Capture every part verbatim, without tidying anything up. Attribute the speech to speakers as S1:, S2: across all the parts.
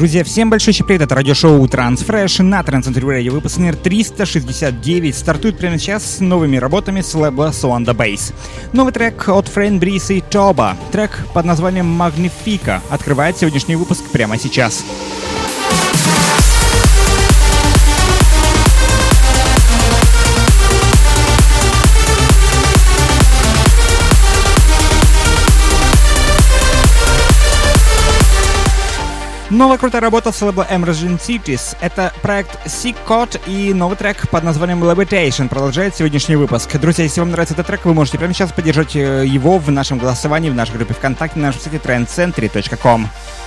S1: Друзья, всем большой привет, это радиошоу Transfresh на Trendcenter Radio, выпуск номер триста шестьдесят девять, стартует прямо сейчас с новыми работами с лейбла Swanda Bass. Новый трек от Фрейн Брис и Тоба, трек под названием Magnifica, открывает сегодняшний выпуск прямо сейчас. Новая крутая работа с лейбла Emerging Cities. Это проект Sick Code и новый трек под названием Levitation продолжает сегодняшний выпуск. Друзья, если вам нравится этот трек, вы можете прямо сейчас поддержать его в нашем голосовании, в нашей группе ВКонтакте, на нашем сайте трендцентри точка ком.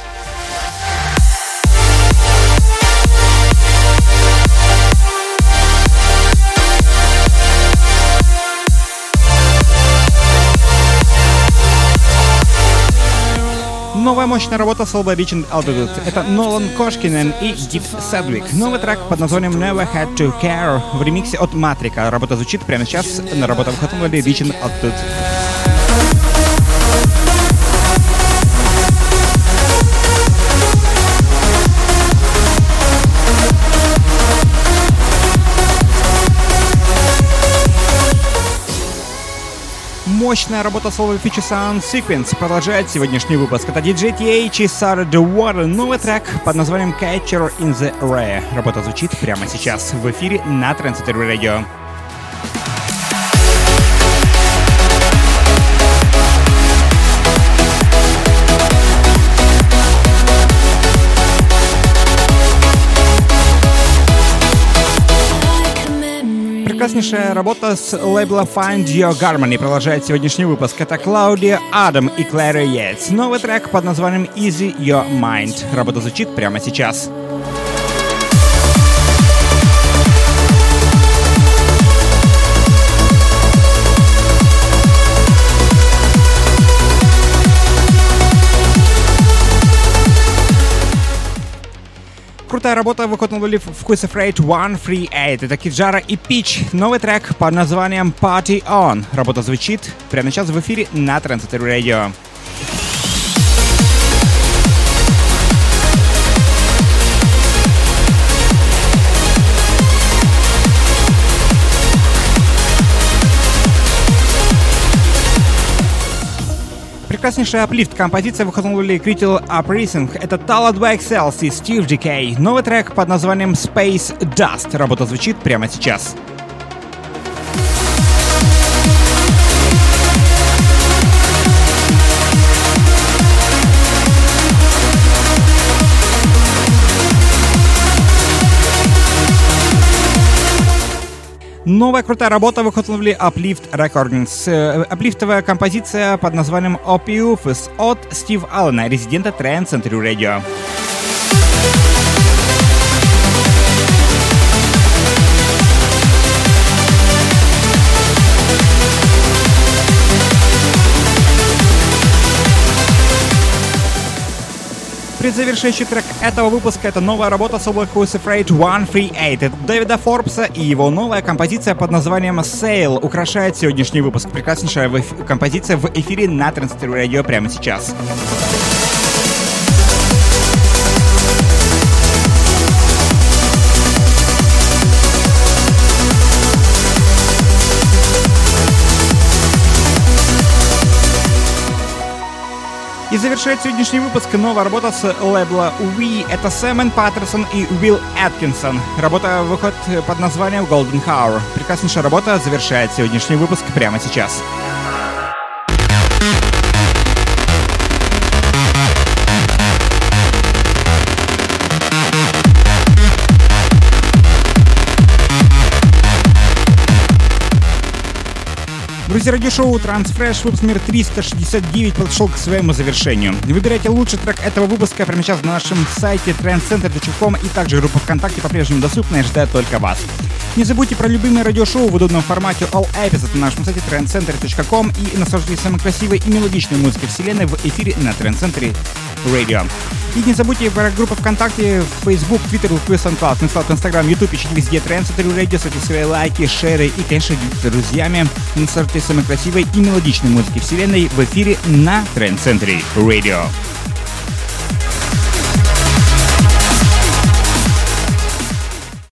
S1: Новая мощная работа с лейбла Reaching Altitude. Это Нолан Кошкинен и Дип Седвик. Новый трек под названием Never Had to Care в ремиксе от Матрика. Работа звучит прямо сейчас на работу выхода на лейбле Reaching Altitude. Мощная работа с лейбла Future Sound Sequence продолжает сегодняшний выпуск. Это диджей ти эйч и Sarah DeWarren. Новый трек под названием Catcher in the Rye. Работа звучит прямо сейчас в эфире на Trendcenter Radio. Прекраснейшая работа с лейбла Find Your Harmony продолжает сегодняшний выпуск. Это Клаудия Адам и Клэра Йейтс. Новый трек под названием Easy Your Mind. Работа звучит прямо сейчас. Крутая работа выходит на лейбле Who's Afraid сто тридцать восемь. Это Киджара и Пич. Новый трек под названием Party On. Работа звучит прямо сейчас в эфире на Trendcenter Radio. Прекраснейшая аплифт композиция выходила Critical Uprising. Это Tala два икс эл и Steve ди кей. Новый трек под названием Space Dust. Работа звучит прямо сейчас. Новая крутая работа выходит на лейбле Uplift Recordings. Аплифтовая композиция под названием Opiophis от Стив Аллена, резидента Trendcenter Radio. Предзавершающий трек этого выпуска — это новая работа с лейбла Who's Afraid сто тридцать восемь. Это Дэвида Форбса и его новая композиция под названием Sail украшает сегодняшний выпуск. Прекраснейшая эф- композиция в эфире на Trendcenter Radio прямо сейчас. И завершает сегодняшний выпуск новая работа с лейбла We. Это Сэмон Паттерсон и Уилл Аткинсон. Работа выходит под названием Golden Hour. Прекраснейшая работа завершает сегодняшний выпуск прямо сейчас. Друзья, радиошоу Transfresh, выпуск номер триста шестьдесят девять подошел к своему завершению. Выбирайте лучший трек этого выпуска прямо сейчас на нашем сайте трендцентри точка ком, и также группа ВКонтакте по-прежнему доступна и ждет только вас. Не забудьте про любимые радиошоу в удобном формате All Episodes на нашем сайте трендцентри точка ком и наслаждайтесь самой красивой и мелодичной музыкой вселенной в эфире на Trendcenter Radio. И не забудьте про группу ВКонтакте, Facebook, Twitter, SoundCloud, Instagram, YouTube, ищите везде Trendcenter Radio, ставьте свои лайки, шеры и, конечно, делитесь с друзьями. Наслаждайтесь самой красивой и мелодичной музыкой вселенной в эфире на Trendcenter Radio.